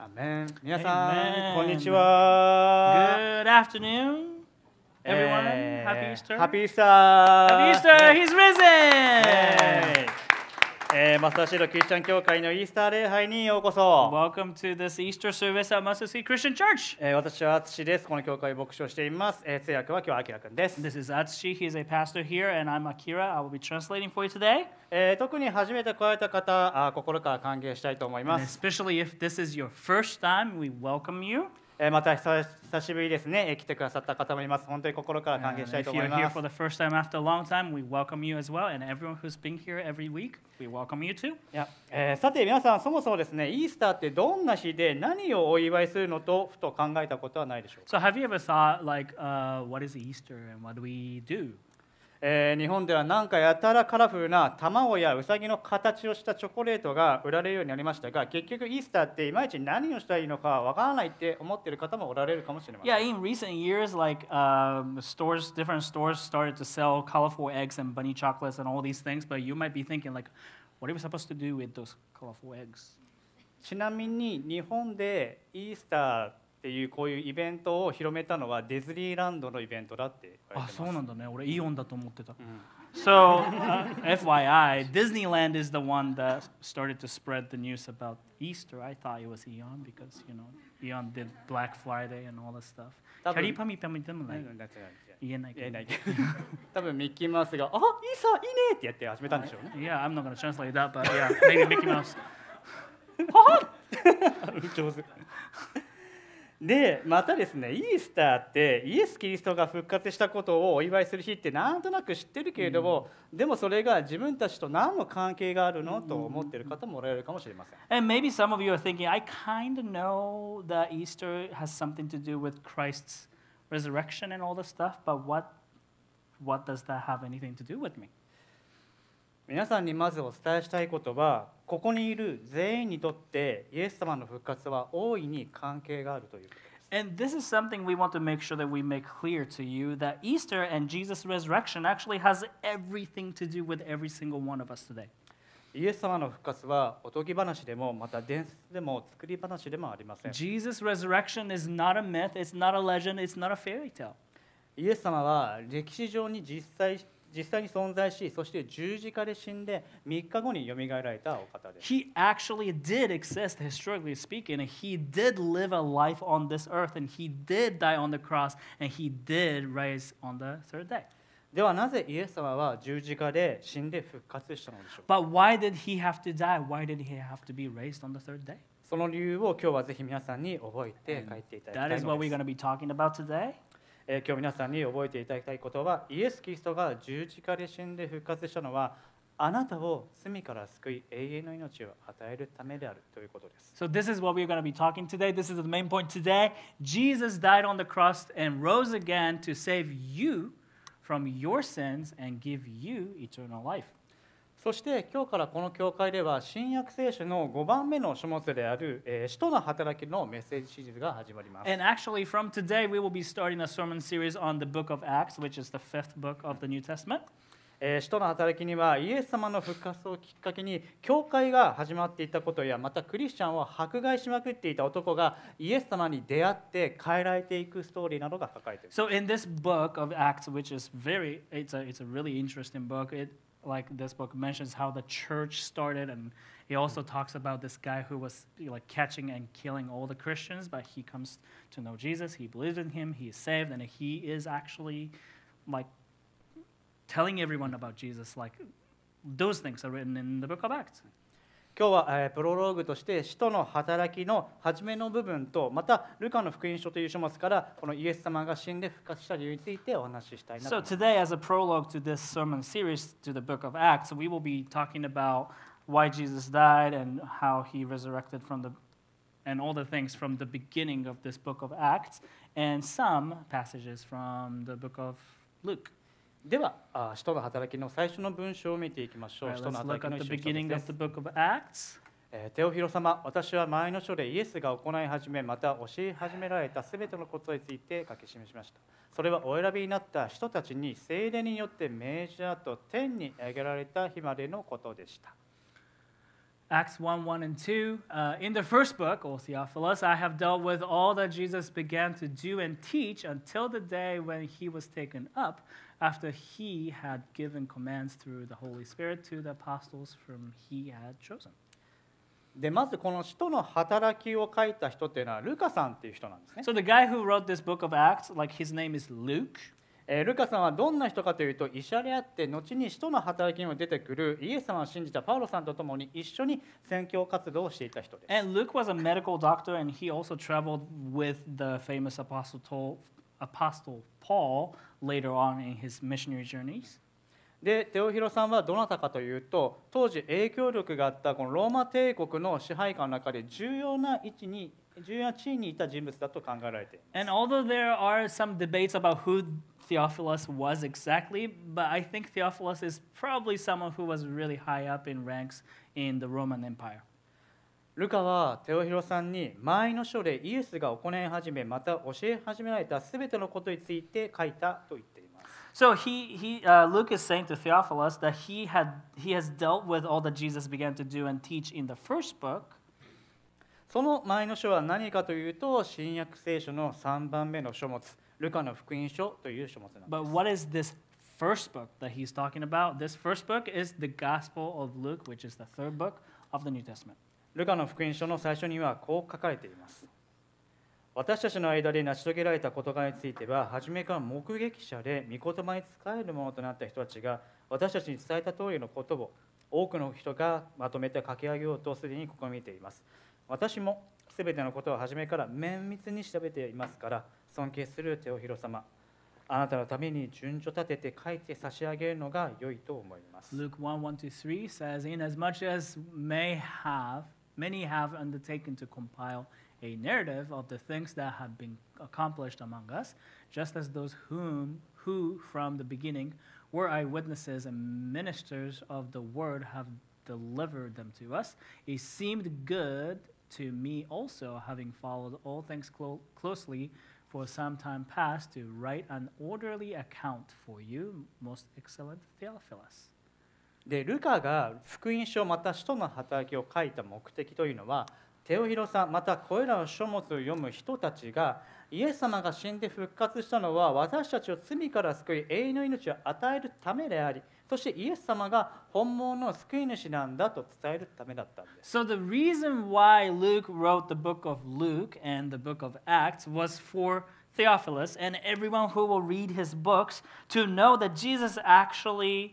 アメン。皆さん、 Amen. こんにちは。 Good afternoon, everyone. Happy Easter. ハッピーイースター。 Happy Easter. He's risen. マスターシードクリスチャン教会のイースター礼拝にようこそ。 Welcome to this Easter service at Mustard Seed Christian Church. 私は淳です。この教会牧師をしています。通訳は今日はあきらくんです。 This is Atsushi. He's a pastor here, and I'm Akira. I will be translating for you today. 特に初めて来られた方、心から歓迎したいと思い And ます。 especially if this is your first time, we welcome you. また久しぶりですね、来てくださった方もいます。本当に心から歓 And 迎したい if と思 you're い here ます for。the first time after a long time, we welcome you as well. And everyone who's been here every week, we welcome you too. いやさて皆さん、そもそもですね、イースターってどんな日で何をお祝いするのとふと考えたことはないでしょうか。 So have you ever thought like, what is Easter and what do we do? 日本ではなんかやたらカラフルな卵やウサギの形をしたチョコレートが売られるようになりましたが、結局イースターっていまいち何をしたらいいのかわからないって思っている方もおられるかもしれません。 Yeah, in recent years, like different stores started to sell colorful eggs and bunny chocolates and all these things. But you might be thinking, like, what are we supposed to do with those colorful eggs? ちなみに日本でイースターっていうこういうイベントを広めたのはディズニーランドのイベントだって言われてます。 So, FYI, Disneyland is the one that started to spread the news about Easter. I thought it was Eon because, you know, Eon did Black Friday and all that stuff. 多分キャリーパミパミでもない。言えないけど。 言えないけど多分ミッキーマウスが「あイーサーいいね!」ってやって始めたんでしょうね。 Yeah, I'm not going to translate that, but yeah, maybe Mickey Mouse. 上手でまたですね、イースターってイエス・キリストが復活したことをお祝いする日ってなんとなく知ってるけれども、でもそれが自分たちと何の関係があるのと思っている方もおられるかもしれません。 And maybe some of you are thinking, I kind of know that Easter has something to do with Christ's resurrection and all this stuff, but what does that have anything to do with me? 皆さんにまずお伝えしたいことは、ここにいる全員にとってイエス様の復活は大いに関係があるということです。 And this is something we want to make sure that we make clear to you, that Easter and Jesus' resurrection actually has everything to do with every single one of us today. イエス様の復活はおとぎ話でもまた伝説でも作り話でもありません。 Jesus' resurrection is not a myth, it's not a legend, it's not a fairy tale. イエス様は歴史上に実際に存在し、そして十字架で死んで3日後によみがえられたお方です。 He actually did exist, historically speaking, and he did live a life on this earth, and he did die on the cross, and he did rise on the third day. ではなぜイエス様は十字架で死んで復活したのでしょうか。 But why did he have to die? Why did he have to be raised on the third day? その理由を今日はぜひ皆さんに覚えて帰っていただき That たい is の what で we're す。 going to be talking about today. 今日皆さんに覚えていただきたいことは、イエス・キリストが十字架で死んで復活したのは、あなたを罪から救い永遠の命を与えるためであるということです。 So this is what we're going to be talking today. This is the main point today. Jesus died on the cross and rose again to save you from your sins and give you eternal life. そして今日からこの教会では新約聖書の5番目の書物である使徒の働きのメッセージシリーズが始まります。 And actually, from today, we will be starting a sermon series on the book of Acts, which is the fifth book of the New Testament. 使徒の働きにはイエス様の復活をきっかけに教会が始まっていたことや、またクリスチャンを迫害しまくっていた男がイエス様に出会って変えられていくストーリーなどが書かれている。 So in this book of Acts, which is it's a really interesting book. Like this book mentions how the church started, and it also talks about this guy who was like catching and killing all the Christians, but he comes to know Jesus, he believes in him, he is saved, and he is actually like telling everyone about Jesus. Like those things are written in the book of Acts. 今日はプロローグとして使徒の働きの初めの部分と、またルカの福音書という書物からこのイエス様が死んで復活した理由についてお話ししたいなと So 思います。 today, as a prologue to this sermon series to the book of Acts, we will be talking about why Jesus died and how he resurrected and all the things from the beginning of this book of Acts, and some passages from the book of Luke. では、使徒の働きの最初の文章を見ていきましょう。 All right, 使徒の let's 働 look きの at 一 the 章一 beginning 節で of す the。book of Acts. テオフィロ様、私は前の書でイエスが行い始め、また教え始められたすべてのことについて書き示しました。それはお選びになった人たちに聖霊によって命じたと天に上げられた日までのことでした。 Acts 1, 1 and 2. In the first book, O Theophilus, I have dealt with all that Jesus began to do and teach until the day when he was taken up, after he had given commands through the Holy Spirit to the apostles whom he had chosen. でまずこの使徒の働きを書いた人っていうのはルカさんっていう人なんですね。 So the guy who wrote this book of Acts, like his name is Luke. ルカさんはどんな人かというと医者であって後に使徒の働きにも出てくるイエス様を信じたパウロさんと共に一緒に宣教活動をしていた人です。 And Luke was a medical doctor, and he also traveled with the famous apostle Paul later on in his missionary journeys. でテオヒロさんはどなたかというと当時影響力があったこのローマ帝国の支配下の中で重要な地位にいた人物だと考えられています。 And although there are some debates about who Theophilus was exactly, but I think Theophilus is probably someone who was really high up in ranks in the Roman Empire. ルカはテオヒロさんに前の書でイエスが行い始めまた教え始められたすべてのことについて書いたと言っています。 So Luke is saying to Theophilus that he has dealt with all that Jesus began to do and teach in the first book. その前の書は何かというと新約聖書の3番目の書物ルカの福音書という書物なんです。 But what is this first book that he's talking about? This first book is the Gospel of Luke, which is the third book of the New Testament. ルカの福音書の最初にはこう書かれています。私たちの間で成し遂げられた事柄については、初めから目撃者で御言葉に仕えるものとなった人たちが、私たちに伝えた通りのことを多くの人がまとめて書き上げようとすでに試みています。私もすべてのことを初めから綿密に調べていますから、尊敬するテオヒロ様、あなたのために順序立てて書いて差し上げるのが良いと思います。 Luke 1, 1-3 says, Inasmuch as many have undertaken to compile a narrative of the things that have been accomplished among us, just as those who from the beginning were eyewitnesses and ministers of the word have delivered them to us, it seemed good to me also, having followed all things closely for some time past, to write an orderly account for you, most excellent Theophilus. でルカが福音書また使徒の働きを書いた目的というのは、テオヒロさんまたこれらの書物を読む人たちがイエス様が死んで復活したのは私たちを罪から救い永遠の命を与えるためであり、そしてイエス様が本物の救い主なんだと伝えるためだったんです。 So the reason why Luke wrote the book of Luke and the book of Acts was for Theophilus and everyone who will read his books to know that Jesus actually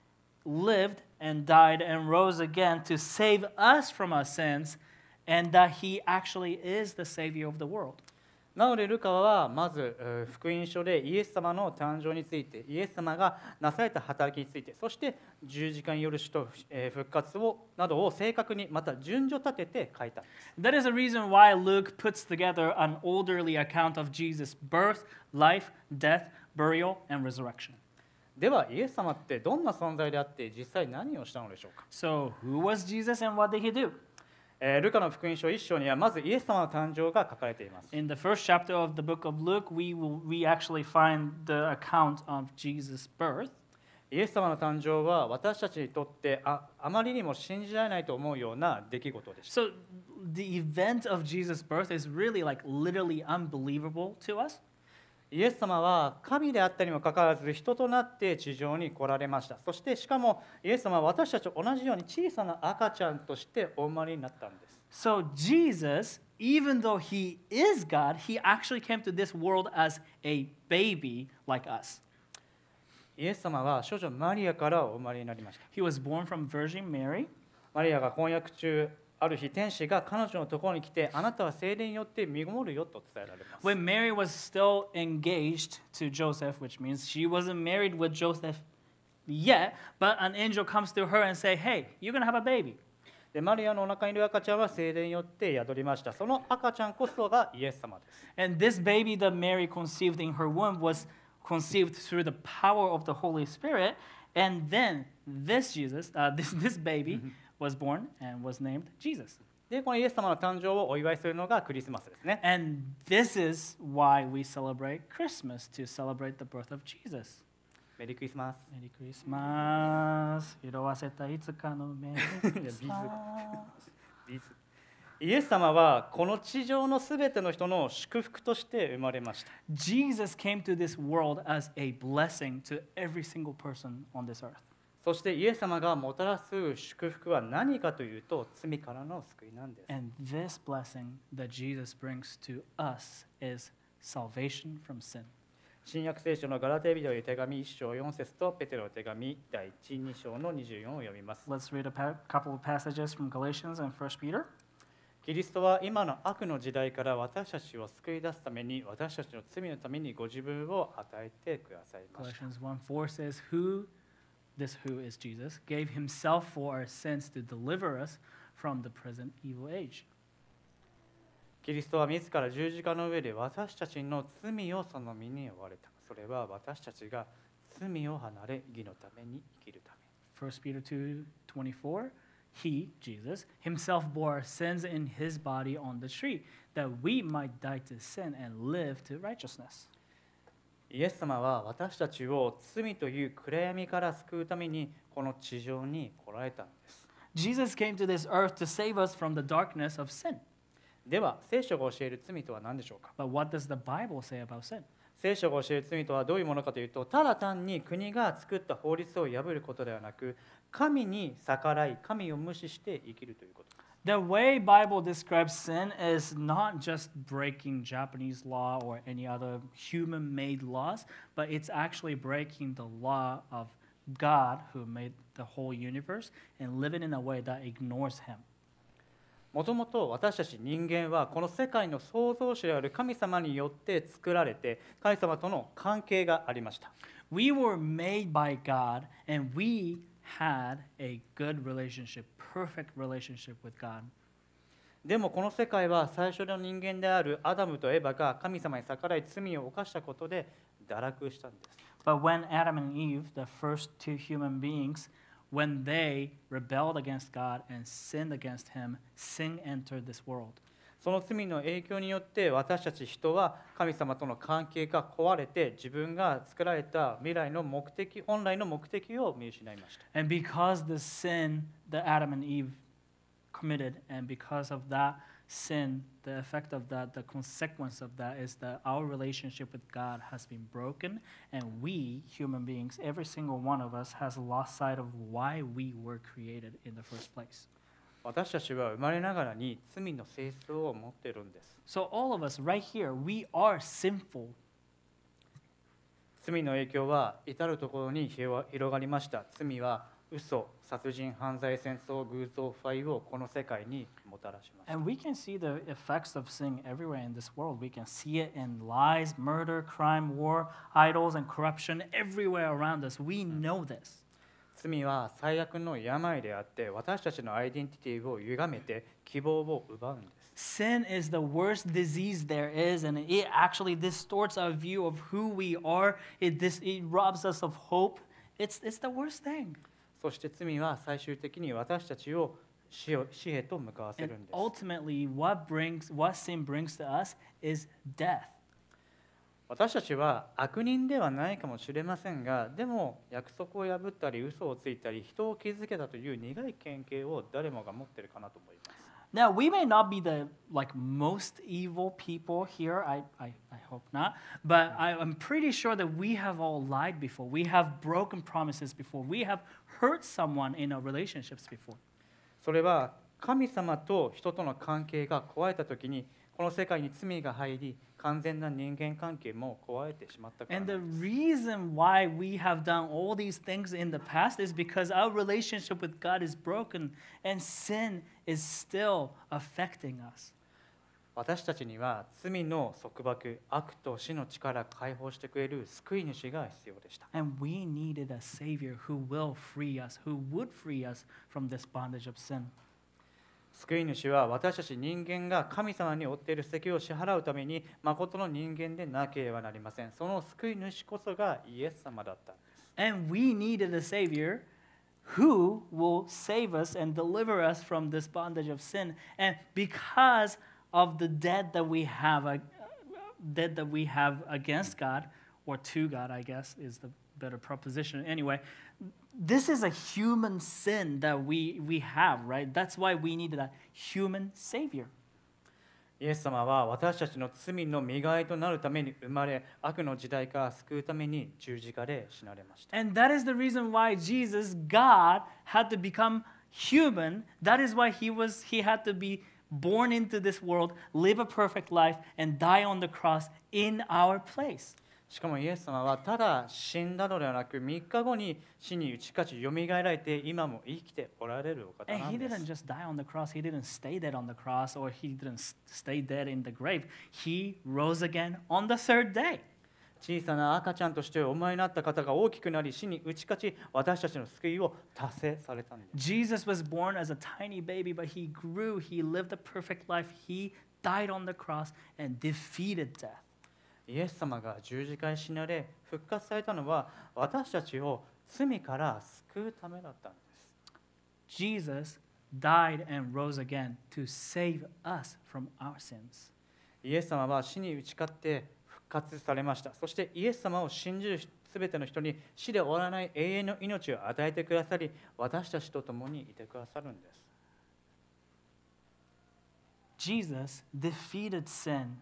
lived and died and rose again to save us from our sins, and that he actually is the Savior of the world. なのでルカはまず福音書でイエス様の誕生について、イエス様がなされた働きについて、そして十字架による死と復活などを正確にまた順序立てて書いたんです。 That is the reason why Luke puts together an orderly account of Jesus' birth, life, death, burial, and resurrection. ではイエス様ってどんな存在であって実際何をしたのでしょうか。 So who was Jesus and what did he do? ルカの福音書1章にはまずイエス様の誕生が書かれています。 In the first chapter of the book of Luke, we actually find the account of Jesus' birth. イエス様の誕生は私たちにとってあまりにも信じられないと思うような出来事でした。 So the event of Jesus' birth is really like literally unbelievable to us. イエス様は神であったにもかかわらず人となって地上に来られました。そしてしかもイエス様は私たちと同じように小さな赤ちゃんとしてお生まれになったんです。 So Jesus, even though he is God, he actually came to this world as a baby like us. イエス様は少女マリアからお生まれになりました。 He was born from Virgin Mary. マリアが婚約中、ある日天使が彼女のところに来て、あなたは聖霊によって身ごもるよと伝えられます。 When Mary was still engaged to Joseph, which means she wasn't married with Joseph yet, but an angel comes to her and say, "Hey, you're going to have a baby." でマリアのお腹にいる赤ちゃんは聖霊によって宿りました。その赤ちゃんこそがイエス様です。 And this baby that Mary conceived in her womb was conceived through the power of the Holy Spirit, and then this Jesus, this baby was born and was named Jesus. でこのイエス様の誕生をお祝いするのがクリスマスですね。 And this is why we celebrate Christmas, to celebrate the birth of Jesus. メリークリスマス。 メリークリスマス。色あせたいつかのメリークリスマス。 イエス様はこの地上のすべての人の祝福として生まれました。 Jesus came to this world as a blessing to every single person on this earth. そしてイエス様がもたらす祝福は何かというと、罪からの救いなんです。 And this blessing that Jesus brings to us is salvation from sin. 新約聖書のガラテヤ人へ手紙1章4節とペテロの手紙第1、2章の24を読みます。 Let's read a couple of passages from Galatians and 1 Peter. キリストは今の悪の時代から私たちを救い出すために、私たちの罪のためにご自分を与えてくださいました。 Galatians 1:4 says, This who is Jesus, gave himself for our sins to deliver us from the present evil age. キリストは自ら十字架の上で私たちの罪をその身に負われた。それは私たちが罪を離れ、義のために生きるため。 1 Peter 2:24, He, Jesus, himself bore our sins in his body on the tree, that we might die to sin and live to righteousness. イエス様は私たちを罪という暗闇から救うためにこの地上に来られたのです。 Jesus came to this earth to save us from the darkness of sin. では、聖書が教える罪とは何でしょうか。 But what does the Bible say about sin? 聖書が教える罪とはどういうものかというと、ただ単に国が作った法律を破ることではなく、神に逆らい、神を無視して生きるということ。 The way Bible describes sin is not just breaking Japanese law or any other human-made laws, but it's actually breaking the law of God who made the whole universe and living in a way that ignores him. もともと私たち人間はこの世界の創造主である神様によって作られて、神様との関係がありました。 We were made by God and we had a good relationship, perfect relationship with God. でもこの世界は最初の人間であるアダムとエバが神様に逆らい罪を犯したことで堕落したんです。 But when Adam and Eve, the first two human beings, when they rebelled against God and sinned against him, sin entered this world. その罪の影響によって私たち人は神様との関係が壊れて、自分が作られた未来の目的、本来の目的を見失いました。 And because the sin that Adam and Eve committed, and because of that sin, the effect of that, the consequence of that is that our relationship with God has been broken, and we, human beings, every single one of us has lost sight of why we were created in the first place. 私たちは生まれながらに罪の性質を持っているんです。 So all of us right here, we are sinful. 罪の影響は至るところに広がりました。罪は嘘、殺人、犯罪、戦争、偶像、腐敗をこの世界にもたらしました。 And we can see the effects of sin everywhere in this world. We can see it in lies, murder, crime, war, idols, and corruption everywhere around us. We know this. 罪は最悪の病であって私たちのアイデンティティを歪めて希望を奪うんです。 Sin is the worst disease there is, and it actually distorts our view of who we are. It robs us of hope. It's the worst thing. そして罪は最終的に私たちを死へと向かわせ And るんです。 ultimately, what sin brings to us is death. 私たちは悪人ではないかもしれませんが、でも約束を破ったり嘘をついたり人を傷つけたという苦い経験を誰もが持っているかなと思います。 Now, we may not be the most evil people here. I hope not. But I'm pretty sure that we have all lied before. We have broken promises before. We have hurt someone in our relationships before. それは神様と人との関係が壊れたときにこの世界に罪が入り、完全な人間関係も壊れてしまったからな And ん the です。 reason why we have done all these things in the past is because our relationship with God is broken and sin is still affecting us. 私たちには罪の束縛、悪と死の力を解放してくれる救い主が必要でした。 And we needed a Savior who will free us, who would free us from this bondage of sin. 救い主は私たち人間が神様に負っている責を支払うために誠の人間でなければなりません。その救い主こそがイエス様だったんです。 And we needed a Savior who will save us and deliver us from this bondage of sin. And because of the debt that we have against God, or to God, I guess, is the better proposition. Anyway, this is a human sin that we have, right? That's why we need a human savior. イエス様は私たちの罪の身代わりとなるために生まれ、悪の時代から救うために十字架で死なれました。 And that is the reason why Jesus, God, had to become human. That is why he had to be born into this world, live a perfect life, and die on the cross in our place. しかもイエス様はただ死んだのではなく、3日後に死に打ち勝ちよみがえられて今も生きておられるお方 And な he んで didn't す。 just die on the cross. He didn't stay dead on the cross, or he didn't stay dead in the grave. He rose again on the third day. 小さな赤ちゃんとしてお生まれになった方が大きくなり、死に打ち勝ち、私たちの救いを達成されたんです。 Jesus was born as a tiny baby, but he grew. He lived a perfect life. He died on the cross and defeated death. イエス様が十字架に死なれ復活されたのは、私たちを罪から救うためだったんです。 Jesus died and rose again to save us from our sins. イエス様は死に打ち勝って復活されました。そしてイエス様を信じるすべての人に死で終わらない永遠の命を与えてくださり、私たちと共にいてくださるんです。 Jesus defeated sin,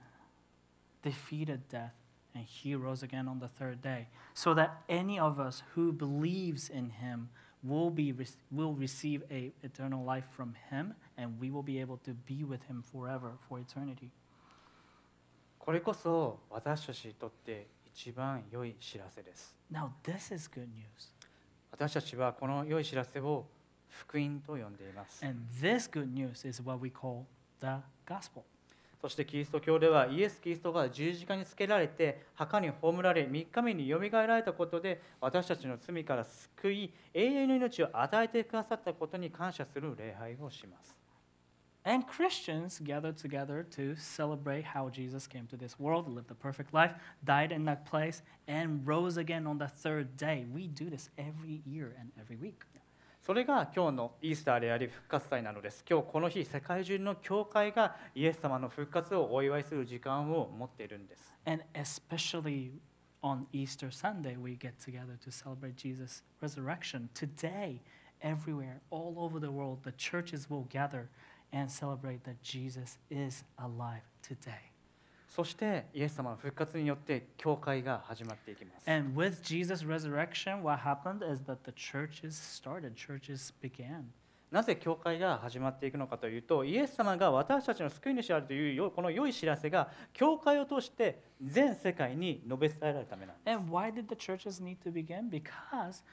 defeated death, and he rose again on the third day, so that any of us who believes in him will receive a eternal life from him, and we will be able to be with him forever, for eternity. これこそ私たちにとって一番良い知らせです。 Now, this is good news. 私たちはこの良い知らせを福音と呼んでいます。 And this good news is what we call the gospel. そしてキリスト教ではイエス・キリストが十字架につけられて墓に葬られ3日目によみがえられたことで私たちの罪から救い永遠の命を与えてくださったことに感謝する礼拝をします。 And Christians gather together to celebrate how Jesus came to this world, lived a perfect life, died in that place, and rose again on the third day. We do this every year and every week. それが今日のイースターであり復活祭なのです。今日この日世界中の教会がイエス様の復活をお祝いする時間を持っているんです。 And especially on Easter Sunday, we get together to celebrate Jesus' resurrection. Today, everywhere, all over the world, the churches will gather and celebrate that Jesus is alive today. そしてイエス様の復活によって教会が始まっていきます。 And with Jesus' resurrection, what happened is that the churches started, churches began. なぜ教会が始まっていくのかというと、イエス様が私たちの救い主であるというこの良い知らせが教会を通して全世界に述べ伝えられるためなんです。 And why did the churches need to begin? Because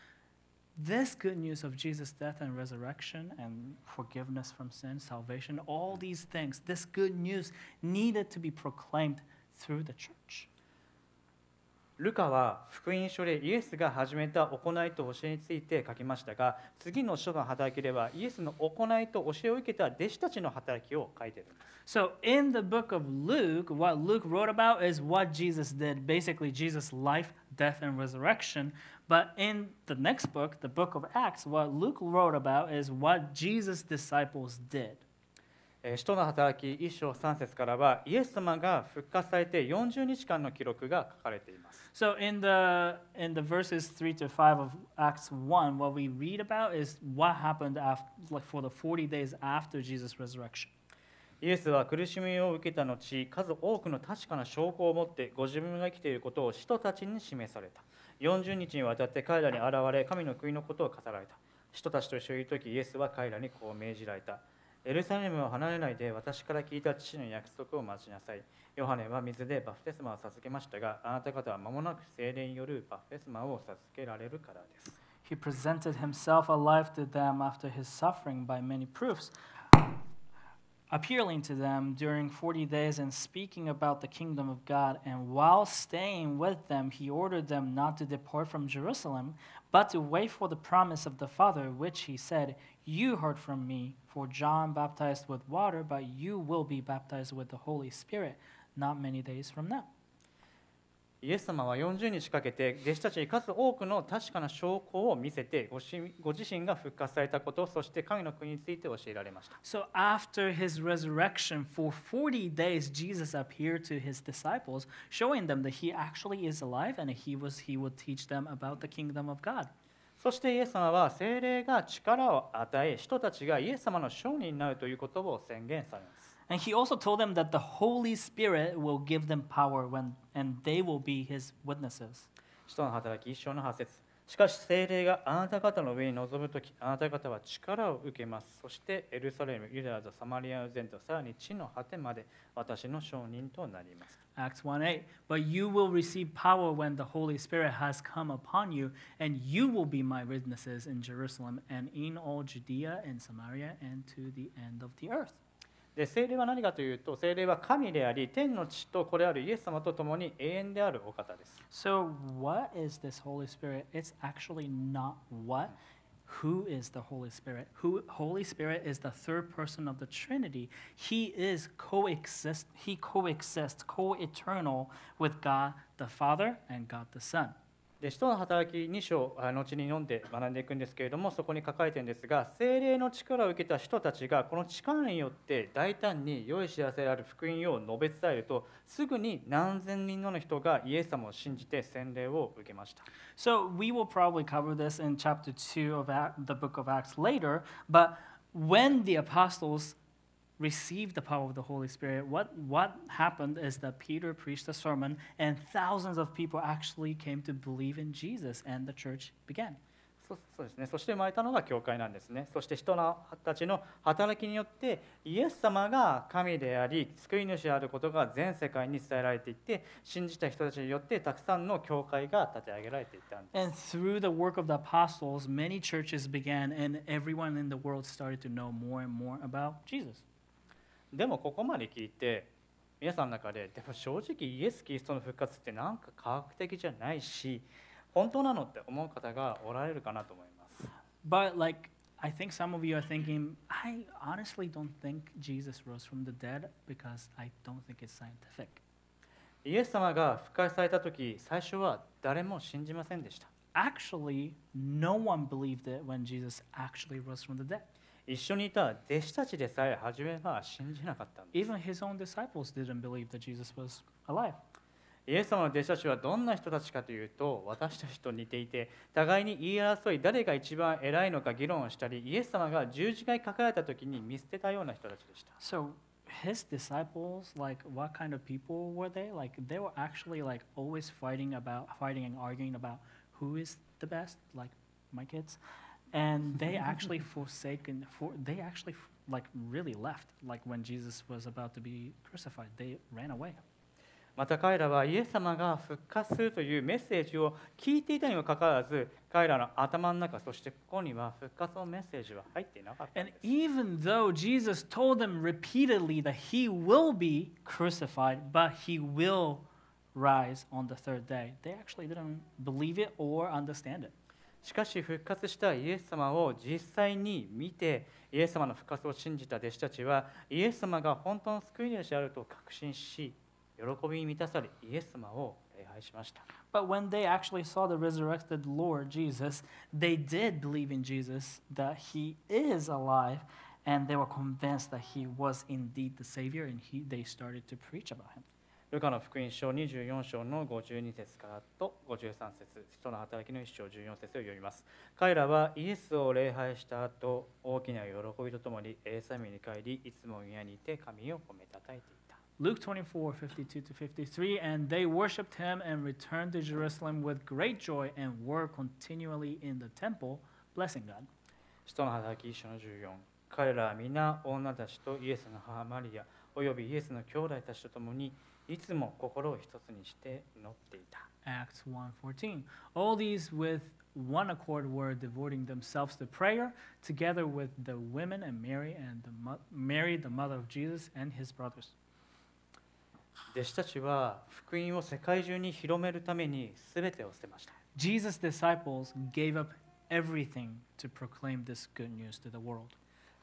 this good news of Jesus' death and resurrection and forgiveness from sin, salvation, all these things, this good news needed to be proclaimed through the church. ルカは福音書でイエスが始めた行いと教えについて書きましたが、次の書の働きではイエスの行いと教えを受けた弟子たちの働きを書いているんです。 So in the book of Luke, what Luke wrote about is what Jesus did, basically Jesus' life, death, and resurrection. But in the next book, the book of Acts, what Luke wrote about is what Jesus' disciples did. 使徒の働き1章3節からはイエス様が復活されて40日間の記録が書かれています。 So in the verses 3 to 5 of Acts 1, what we read about is what happened after, like for the 40 days after Jesus' resurrection. イエスは苦しみを受けた後、数多くの確かな証拠を持ってご自分が生きていることを使徒たちに示された。40日にわたって彼らに現れ、神の国のことを語られた。使徒たちと一緒にいるとき、イエスは彼らにこう命じられた。エルサレムを離れないで私から聞いた父の約束を待ちなさい。ヨハネは水でバプテスマを授けましたが、あなた方は間もなく聖霊によるバプテスマを授けられるからです。 He presented himself alive to them after his suffering by many proofs, appealing to them during 40 days and speaking about the kingdom of God. And while staying with them, he ordered them not to depart from Jerusalem, but to wait for the promise of the Father, which he said, "You heard from me, for John baptized with water, but you will be baptized with the Holy Spirit not many days from now." イエス様は40日かけて弟子たちに数多くの確かな証拠を見せてご自身が復活されたこと、そして神の国について教えられました。 So after his resurrection, for 40 days, Jesus appeared to his disciples, showing them that he actually is alive and he would teach them about the kingdom of God. そしてイエス様は聖霊が力を与え、人たちがイエス様の証人になるということを宣言されます。 And he also told them that the Holy Spirit will give them power and they will be his witnesses. 使徒の働き1章の8節。しかし聖霊があなた方の上に臨むとき、あなた方は力を受けます。そしてエルサレム、ユダヤとサマリアの全土、さらに地の果てまで私の証人となります。 Acts 1:8. But you will receive power when the Holy Spirit has come upon you, and you will be my witnesses in Jerusalem and in all Judea and Samaria and to the end of the earth. で聖霊は何かというと、聖霊は神であり、天の父とこれあるイエス様と共に永遠であるお方です。 So what is this Holy Spirit? It's actually not what. Who is the Holy Spirit? Holy Spirit is the third person of the Trinity. He coexists, co-eternal with God the Father and God the Son. で使徒の働き2章、後に読んで学んでいくんですけれども、そこに書かれているんですが、聖霊の力を受けた人たちがこの力によって大胆に良い知らせである福音を述べ伝えると、すぐに何千人の人がイエス様を信じて洗礼を受けました。 So we will probably cover this in chapter 2 of the book of Acts later, but when the apostles received the power of the Holy Spirit, what happened is that Peter preached a sermon and thousands of people actually came to believe in Jesus and the church began. そうですね。そして生まれたのが教会なんですね。そして人たちの働きによってイエス様が神であり救い主であることが全世界に伝えられていって、信じた人たちによってたくさんの教会が立て上げられていったんです。 And through the work of the apostles, many churches began and everyone in the world started to know more and more about Jesus. でもここまで聞いて皆さんの中で、でも正直イエス・キリストの復活ってなんか科学的じゃないし本当なのって思う方がおられるかなと思います。 But like I think some of you are thinking, I honestly don't think Jesus rose from the dead because I don't think it's scientific. イエス様が復活された時、最初は誰も信じませんでした。 Actually, no one believed it when Jesus actually rose from the dead. 一緒にいた弟子たちでさえ初めは信じなかったんです。 Even his own disciples didn't believe that Jesus was alive. イエス様の弟子たちはどんな人たちかというと、私たちと似ていて、互いに言い争い、誰が一番偉いのか議論をしたり、イエス様が十字架にかかられた時に見捨てたような人たちでした。 So his disciples, like what kind of people were they? Like they were actually like always fighting and arguing about who is the best, like my kids. And they actually they actually like really left, like when Jesus was about to be crucified, they ran away. また彼らはイエス様が復活するというメッセージを聞いていたにもかかわらず、彼らの頭の中、そしてここには復活のメッセージは入っていなかったん And です。 even though Jesus told them repeatedly that he will be crucified, but he will rise on the third day, they actually didn't believe it or understand it. しかし復活したイエス様を実際に見て、イエス様の復活を信じた弟子たちは、イエス様が本当の救い主であると確信し、喜びに満たされ、イエス様を礼拝しました。 But when they actually saw the resurrected Lord Jesus, they did believe in Jesus, that he is alive, and they were convinced that he was indeed the Savior, and they started to preach about him. ルカの福音書24章の52節からと53節、使徒の働きの1章14節を読みます。彼らはイエスを礼拝した後、大きな喜びとともにエルサレムに帰り、いつも宮にいて神を褒めたたえていた。 Luke 24:52 to 53, and they worshipped him and returned to Jerusalem with great joy and were continually in the temple, blessing God. 使徒の働き1章の14、彼らは皆女たちとイエスの母マリア、およびイエスの兄弟たちと共に、いつも心を一つにして祈っていた。 Acts 1:14. All these with one accord were devoting themselves to prayer, together with the women and Mary, the mother of Jesus, and his brothers. 弟子たちは福音を世界中に広めるために全てを捨てました。 Jesus' disciples gave up everything to proclaim this good news to the world.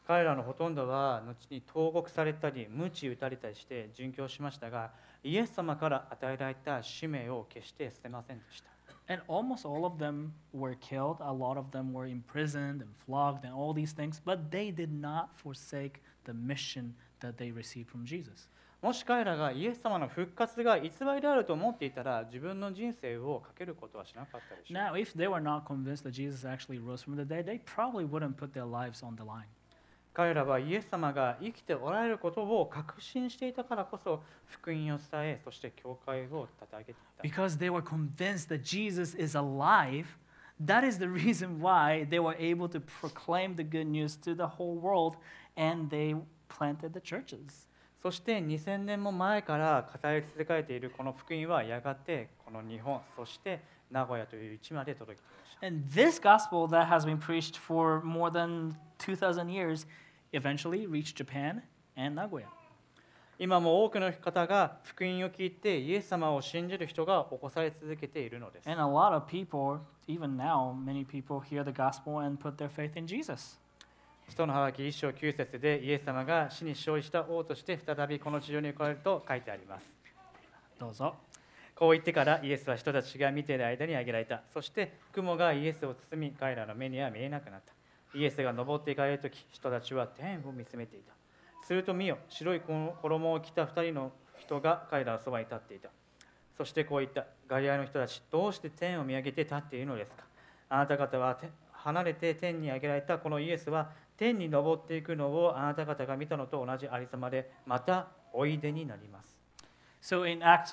彼らのほとんどは後に投獄されたり鞭打たれたりして殉教しましたが、イエス様から与えられた使命を決して捨てませんでした。 And almost all of them were killed. A lot of them were imprisoned and flogged and all these things, but they did not forsake the mission that they received from Jesus. もし彼らがイエス様の復活が偽りであると思っていたら、自分の人生をかけることはしなかったでしょう。 Now, if they were not convinced that Jesus actually rose from the dead, they probably wouldn't put their lives on the line. 彼らはイエス様が生きておられることを確信していたからこそ、福音を伝え、そして教会を立て上げていた。 Because they were convinced that Jesus is alive, that is the reason why they were able to proclaim the good news to the whole world, and they planted the churches. そして2000年も前から語り続けられているこの福音はやがてこの日本、そして名古屋という地まで届きました。 And this gospel that has been preached for more than 2,000 years eventually reached Japan and Nagoya. 今も多くの方が福音を聞いてイエス様を信じる人が起こされ続けているのです。 And a lot of people, even now, many people hear the gospel and put their faith in Jesus. 使徒の働き1章9節でイエス様が死に勝利した王として再びこの地上に来られると書いてあります。 どうぞ。 こう言ってからイエスは人たちが見ている間に挙げられた。そして雲がイエスを包み、彼らの目には見えなくなった。イエスが登っていかれるとき、人たちは天を見つめていた。すると見よ、白い衣を着た2人の人が彼らのそばに立っていた。そしてこう言った。ガリラヤの人たち、どうして天を見上げて立っているのですか。あなた方は離れて天に上げられたこのイエスは天に登っていくのをあなた方が見たのと同じありさまで、またおいでになります。 So in Acts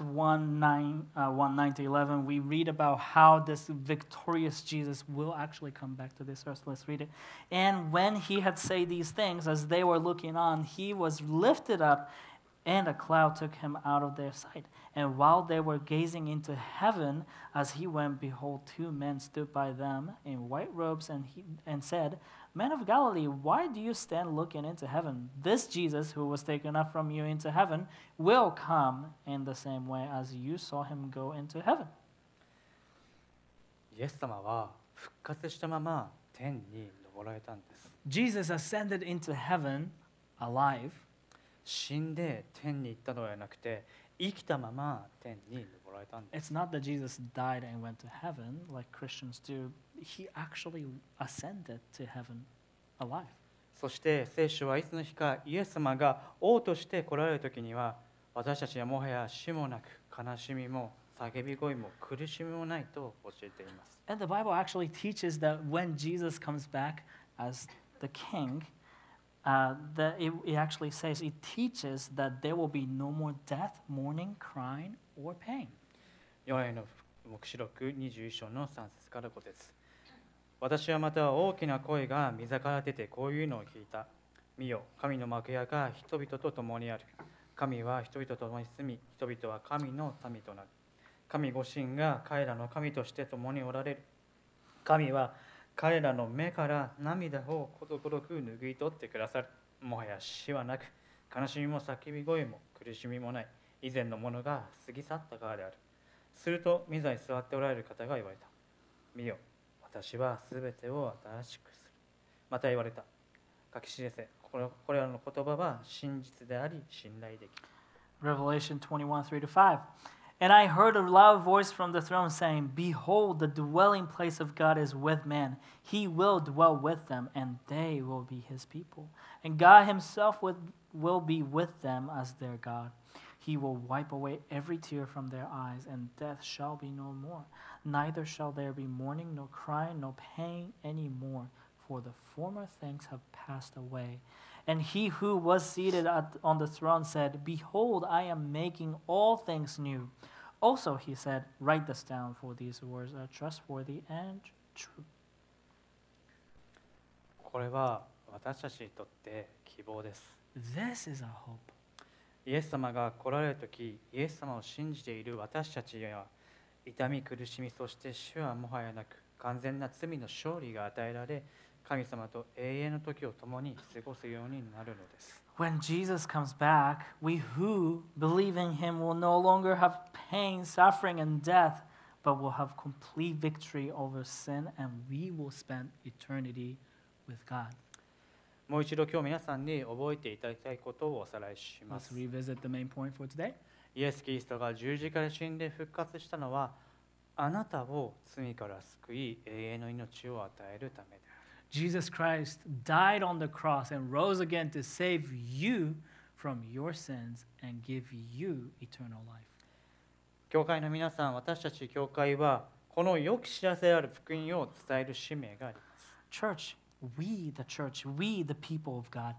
1:9 to 11, we read about how this victorious Jesus will actually come back to this earth. Let's read it. And when he had said these things, as they were looking on, he was lifted up, and a cloud took him out of their sight. And while they were gazing into heaven, as he went, behold, two men stood by them in white robes, and said, Men of Galilee, why do you stand looking into heaven? This Jesus, who was taken up from you into heaven, will come in the same way as you saw him go into heaven. イエス様は復活したまま天に登られたんです。 Jesus ascended into heaven alive. 死んで天に行ったのではなくて、生きたまま天に登られたんです。 It's not that Jesus died and went to heaven like Christians do. He actually ascended to heaven alive. そして聖書はいつの日かイエス様が王として来られる時には、私たちはもはや死もなく悲しみも叫び声も苦しみもないと教えています。 And the Bible actually teaches that when Jesus comes back as the king, that it actually says, it teaches that there will be no more death, mourning, crying, or pain. ヨハネの黙示録21章の3節から5節。私はまた大きな声が御座から出てこういうのを聞いた。見よ、神の幕屋が人々と共にある。神は人々と共に住み、人々は神の民となる。神ご神が彼らの神として共におられる。神は彼らの目から涙をことごとく拭い取ってくださる。もはや死はなく、悲しみも叫び声も苦しみもない。以前のものが過ぎ去ったからである。すると、御座に座っておられる方が言われた。見よ、私はすべてを新しくする。また言われた。書き記せ。これらの言葉は真実であり、信頼できる。 Revelation 21:3-5. And I heard a loud voice from the throne saying, Behold, the dwelling place of God is with men. He will dwell with them, and they will be his people. And God himself will be with them as their God. He will wipe away every tear from their eyes, and death shall be no more. Neither shall there be mourning, nor crying, nor pain any more, for the former things have passed away. And he who was seated on the throne said, Behold, I am making all things new. Also, he said, Write this down, for these words are trustworthy and true. これは私たちにとって希望です。 This is our hope. イエス様が来られるとき、イエス様を信じている私たちには、痛み、苦しみ、そして死はもはやなく、完全な罪の勝利が与えられ、神様と永遠の時を共に過ごすようになるのです。 When Jesus comes back, we who believe in him will no longer have pain, suffering, and death, but will have complete victory over sin, and we will spend eternity with God. もう一度今日皆さんに覚えていただきたいことをおさらいしま Let's す。 revisit the main point for today. イエス・キリストが十字架で死んで復活したのは、あなたを罪から救い、永遠の命を与えるためである。 Jesus Christ died on the cross and rose again to save you from your sins and give you eternal life. 教会の皆さん、私たち教会はこの良き知らせである福音を伝える使命があります。 Church, we, the church, we, the people of God,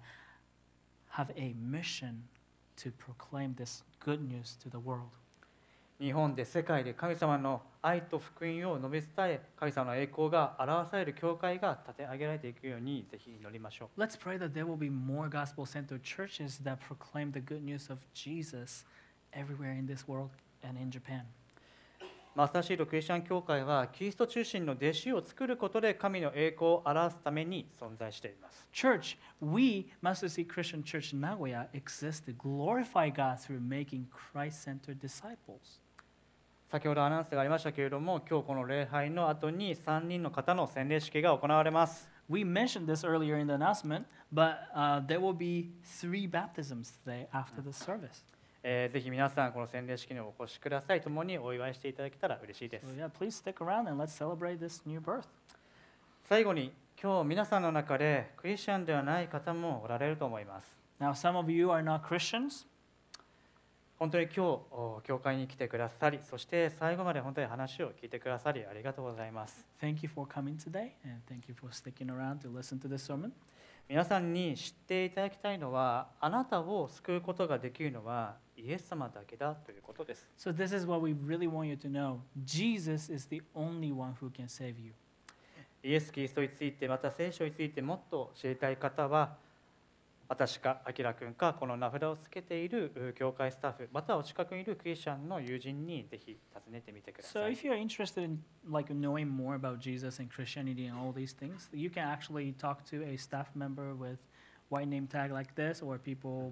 have a mission to proclaim this good news to the world. 日本で世界で神様の愛と福音を述べ伝え、神様の栄光が表される教会が立て上げられていくようにぜひ祈りましょう。 Let's pray that there will be more gospel-centered churches that proclaim the good news of Jesus everywhere in this world and in Japan. マスターシードクリスチャン教会はキリスト中心の弟子を作ることで神の栄光を表すために存在しています。 Church, we, Master C Christian Church Nagoya, exist to glorify God through making Christ-centered disciples. 先ほどアナウンスがありましたけれども、今日この礼拝の後に3人の方の洗礼式が行われます。 We mentioned this earlier in the announcement, but there will be 3 baptisms today after the service. ぜひ皆さんこの洗礼式にお越しください。共にお祝いしていただけたら嬉しいです。 So yeah, please stick around and let's celebrate this new birth. 最後に今日皆さんの中でクリスチャンではない方もおられると思います。 Now, some of you are not Christians. 本当に今日教会に来てくださり、そして最後まで本当に話を聞いてくださりありがとうございます。 Thank you for coming today, and thank you for sticking around to listen to this sermon. 皆さんに知っていただきたいのは、あなたを救うことができるのはイエス様だけだということです。 So this is what we really want you to know. Jesus is the only one who can save you. イエス・キリストについて、また聖書についてもっと知りたい方は、私か、あきらくんか、この名札をつけている教会スタッフ、またはお近くにいるクリスチャンの友人にぜひ尋ねてみてくだ So さい。 if you're interested in like knowing more about Jesus and Christianity and all these things, you can actually talk to a staff member with white name tag like this, or people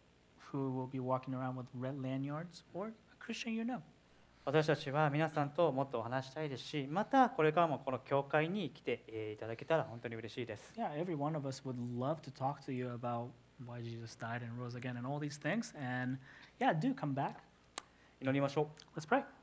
who will be walking around with red lanyards, or a Christian you know. 私たちは皆さんともっとお話したいですし、またこれからもこの教会に来ていただけたら本当に嬉しいです。 Yeah, every one of us would love to talk to you about why Jesus died and rose again and all these things. And yeah, do come back. 祈りましょう。 Let's pray.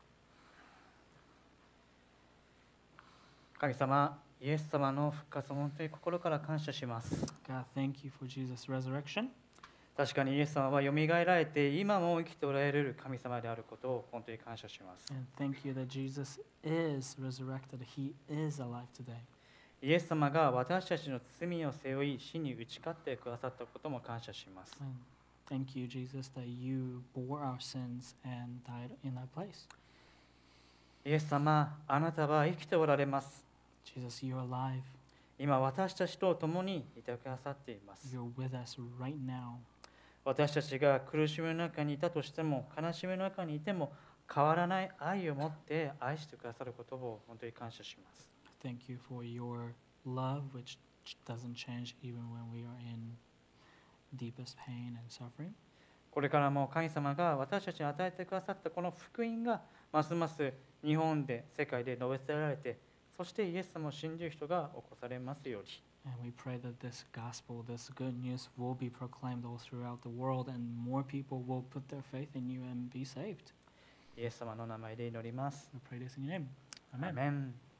神様、イエス様の復活を本当に心から感謝します。 God, thank you for Jesus' resurrection. 確かにイエス様はよみがえられて今も生きておられる神様であることを本当に感謝します。 And thank you that Jesus is resurrected. He is alive today. イエス様が私たちの罪を背負い死に打ち勝ってくださったことも感謝します。 And thank you, Jesus, that you bore our sins and died in our place. イエス様、あなたは生きておられます。 Jesus, you're alive. 今私たちと共にいてくださっています。 You're with us right now. 私たちが苦しみの中にいたとしても、悲しみの中にいても変わらない愛を持って愛してくださることを本当に感謝します。 Thank you for your love, which doesn't change even when we are in deepest pain and suffering. これからも神様が私たちに与えてくださったこの福音がますます日本で世界で述べ伝えられて、そしてイエス様を信じる人が起こされますように。 And we pray that this gospel, this good news will be proclaimed all throughout the world and more people will put their faith in you and be saved. イエス様の名前で祈ります。 We pray this in your name. ア Amen. メン。